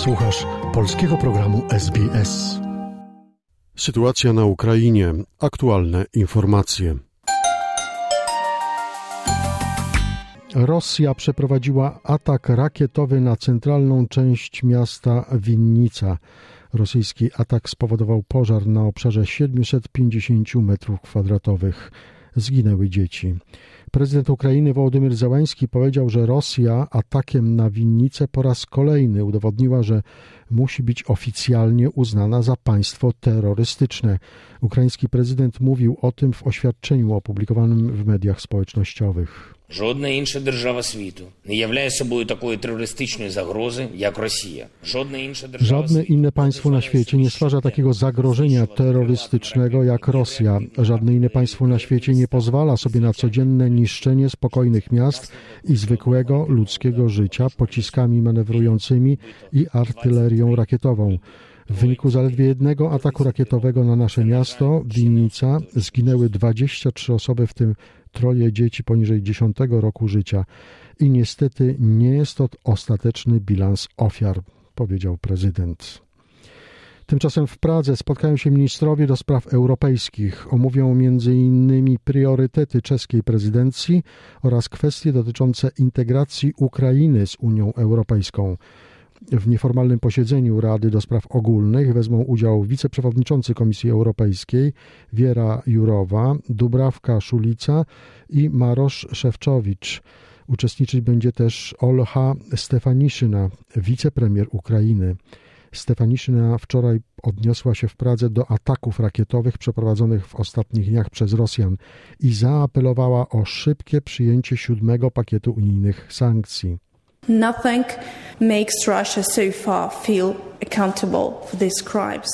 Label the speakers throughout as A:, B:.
A: Słuchasz polskiego programu SBS. Sytuacja na Ukrainie. Aktualne informacje. Rosja przeprowadziła atak rakietowy na centralną część miasta Winnica. Rosyjski atak spowodował pożar na obszarze 750 m2. Zginęły dzieci. Prezydent Ukrainy Wołodymyr Zełenski powiedział, że Rosja atakiem na Winnicę po raz kolejny udowodniła, że musi być oficjalnie uznana za państwo terrorystyczne. Ukraiński prezydent mówił o tym w oświadczeniu opublikowanym w mediach społecznościowych.
B: Жодна інша держава світу не являє собою такої терористичної загрози, як Росія.
A: Żadne inne państwo na świecie nie stwarza takiego zagrożenia terrorystycznego jak Rosja. Żadne inne państwo na świecie nie pozwala sobie na codzienne niszczenie spokojnych miast i zwykłego ludzkiego życia pociskami manewrującymi i artylerią rakietową. W wyniku zaledwie jednego ataku rakietowego na nasze miasto, Winnica, zginęły 23 osoby, w tym 3 dzieci poniżej 10 roku życia. I niestety nie jest to ostateczny bilans ofiar, powiedział prezydent. Tymczasem w Pradze spotkają się ministrowie do spraw europejskich. Omówią m.in. priorytety czeskiej prezydencji oraz kwestie dotyczące integracji Ukrainy z Unią Europejską. W nieformalnym posiedzeniu Rady do Spraw Ogólnych wezmą udział wiceprzewodniczący Komisji Europejskiej Wiera Jurowa, Dubravka Szulica i Marosz Szefczowicz. Uczestniczyć będzie też Olha Stefaniszyna, wicepremier Ukrainy. Stefaniszyna wczoraj odniosła się w Pradze do ataków rakietowych przeprowadzonych w ostatnich dniach przez Rosjan i zaapelowała o szybkie przyjęcie 7. pakietu unijnych sankcji.
C: Nothing makes Russia so far feel accountable for these crimes.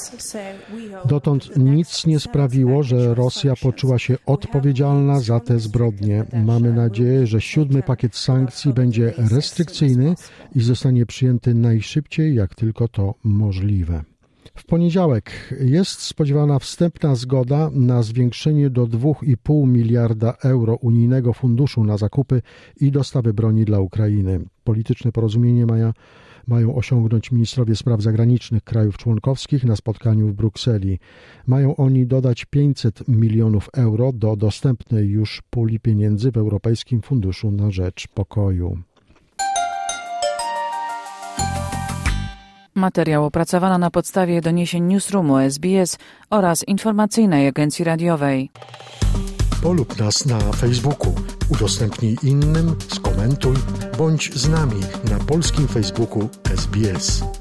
A: Dotąd nic nie sprawiło, że Rosja poczuła się odpowiedzialna za te zbrodnie. Mamy nadzieję, że 7. pakiet sankcji będzie restrykcyjny i zostanie przyjęty najszybciej, jak tylko to możliwe. W poniedziałek jest spodziewana wstępna zgoda na zwiększenie do 2,5 miliarda euro unijnego funduszu na zakupy i dostawy broni dla Ukrainy. Polityczne porozumienie mają osiągnąć ministrowie spraw zagranicznych krajów członkowskich na spotkaniu w Brukseli. Mają oni dodać 500 milionów euro do dostępnej już puli pieniędzy w Europejskim Funduszu na Rzecz Pokoju.
D: Materiał opracowano na podstawie doniesień Newsroomu SBS oraz informacyjnej agencji radiowej.
A: Polub nas na Facebooku, udostępnij innym, skomentuj, bądź z nami na polskim Facebooku SBS.